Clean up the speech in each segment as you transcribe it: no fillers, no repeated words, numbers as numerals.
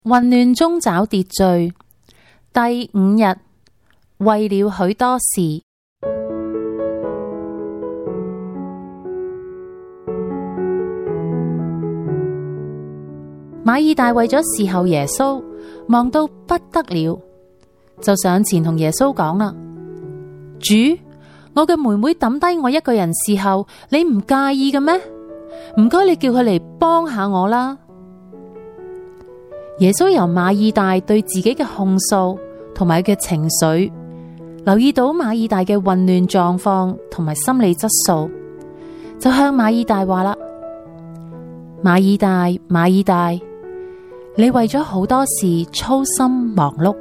混亂中找秩序。第5日，為了許多事。馬爾大為咗侍候耶穌，忙到不得了，就上前同耶穌講啦：主，我嘅妹妹抌低我一個人侍候，你唔介意嘅咩？唔該，你叫佢嚟幫下我啦。耶穌由馬爾大對自己嘅控訴同埋佢嘅情緒，留意到馬爾大嘅混亂狀況同埋心理質素，就向馬爾大話啦：馬爾大，馬爾大，你為咗好多事操心忙碌。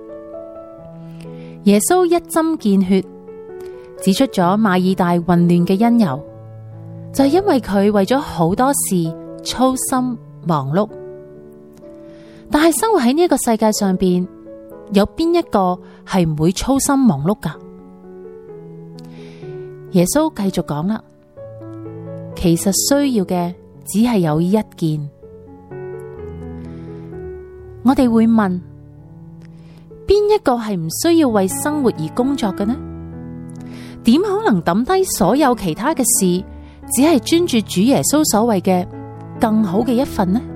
耶穌一針見血，指出咗馬爾大混亂嘅因由，就係因為佢為咗好多事操心忙碌。但係生活喺呢一個世界上邊，有邊一個係唔會操心忙碌㗎？耶穌繼續講啦，其實需要嘅只係有一件。我哋會問，邊一個係唔需要為生活而工作嘅呢？點可能抌低所有其他嘅事，只係專注主耶穌所謂嘅更好嘅一份呢？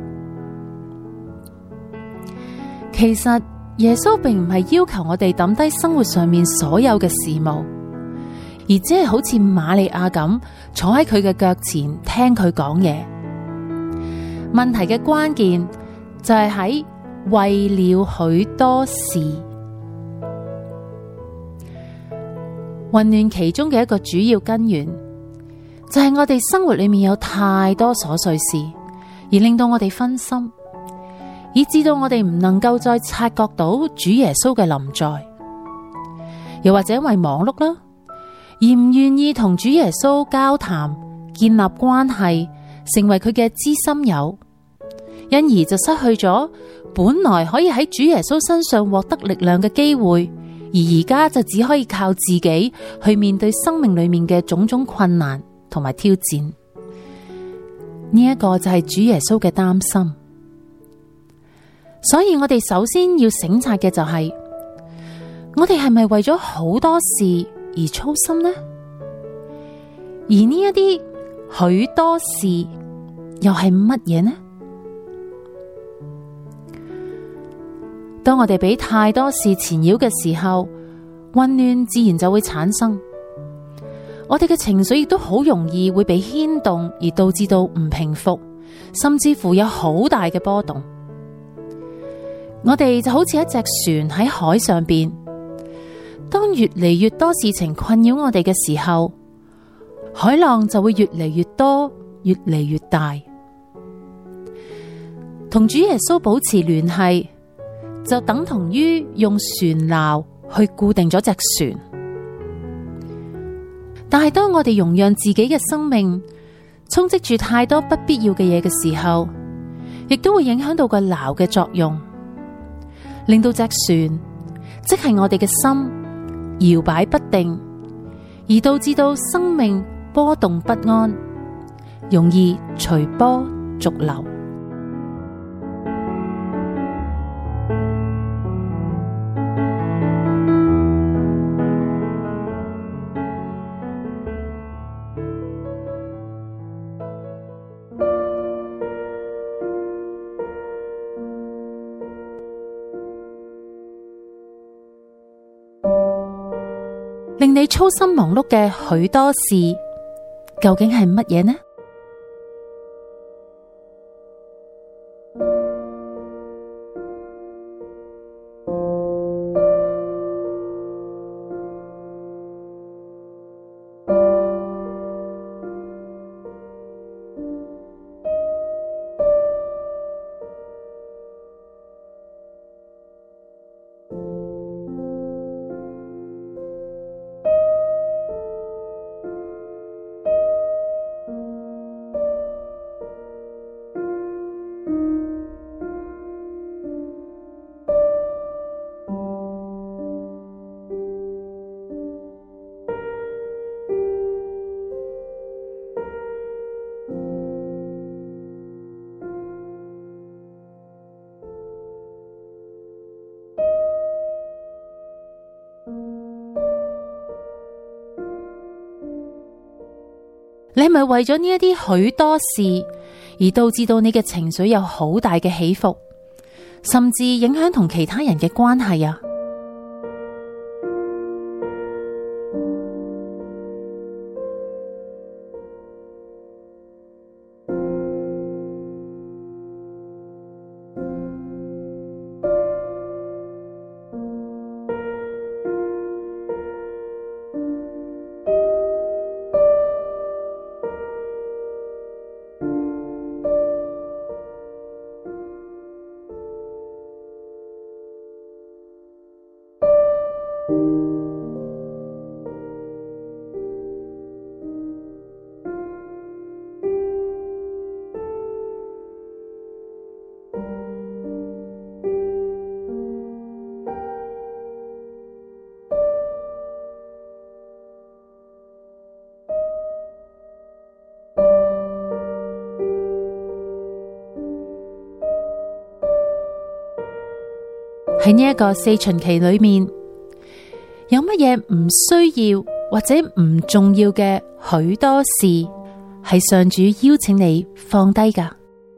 其實耶穌並唔係要求我哋抌低生活上面所有嘅事務，而只係好似瑪利亞咁坐喺佢嘅腳前聽佢講嘢。問題嘅關鍵就係喺為了許多事。混亂其中嘅一個主要根源，就係我哋生活裏面有太多瑣碎事，而令到我哋分心，以致到我哋唔能夠再察覺到主耶穌嘅臨在。又或者因為忙碌啦，而唔願意同主耶穌交談，建立關係，成為佢嘅知心友，因而就失去咗本來可以喺主耶穌身上獲得力量嘅機會，而而家就只可以靠自己去面對生命裏面嘅種種困難同埋挑戰。呢一個就係主耶穌嘅擔心。所以我哋首先要省察嘅就係，我哋係咪為咗好多事而操心呢？而呢一啲許多事又係乜嘢呢？當我哋俾太多事纏繞嘅時候，混亂自然就會產生。我哋嘅情緒亦都好容易會被牽動，而導致到唔平復，甚至乎有好大嘅波動。我哋就好似一隻船喺海上邊，當越嚟越多事情困擾我哋嘅時候，海浪就會越嚟越多，越嚟越大。同主耶穌保持聯繫，就等同於用船錨去固定咗隻船。但係當我哋容讓自己嘅生命充斥住太多不必要嘅嘢嘅時候，亦都會影響到個錨嘅作用，令到隻船，即係我哋嘅心搖擺不定，而導致到生命波動不安，容易隨波逐流。令你操心忙碌嘅許多事，究竟係乜嘢呢？ 你係咪為咗呢一啲許多事而導致到你嘅情緒有好大嘅起伏，甚至影響同其他人嘅關係啊？喺呢一個四旬期裏面，有乜嘢唔需要或者唔重要嘅許多事，係上主邀請你放低㗎？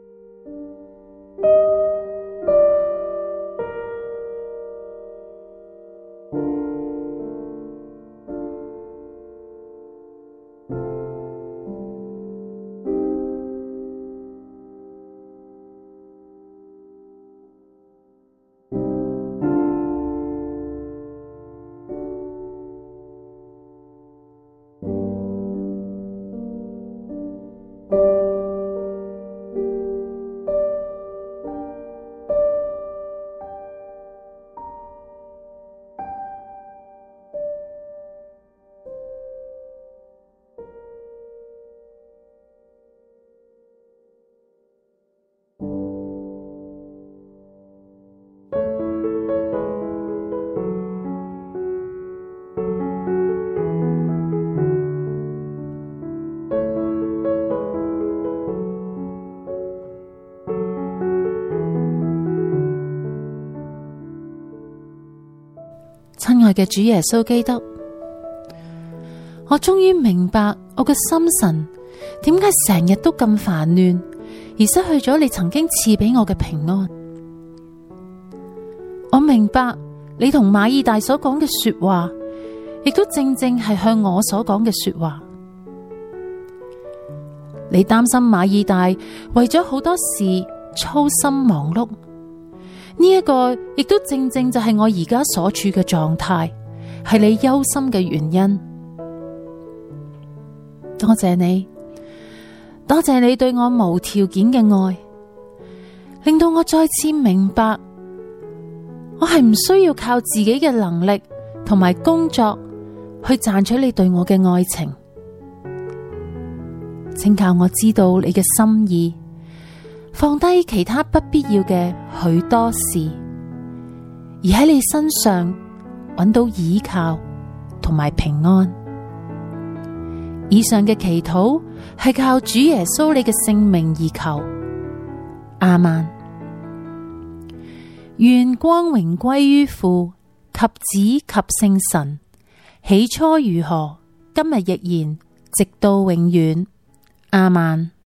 親愛嘅主耶穌基督，我終於明白我嘅心神點解成日都咁煩亂，而失去咗你曾經賜俾我嘅平安。我明白你同馬爾大所講嘅說話，亦都正正係向我所講嘅說話。你擔心馬爾大為咗好多事操心忙碌，呢一個亦都正正就係我而家所處嘅狀態，係你憂心嘅原因。多謝你，多謝你對我無條件嘅愛，令到我再次明白，我係唔需要靠自己嘅能力同埋工作去賺取你對我嘅愛情。請教我知道你嘅心意，放低其他不必要嘅許多事，而喺你身上揾到依靠同埋平安。以上嘅祈禱係靠主耶穌你嘅聖名而求，阿們。願光榮歸於父及子及聖神，起初如何，今日亦然，直到永遠，阿們。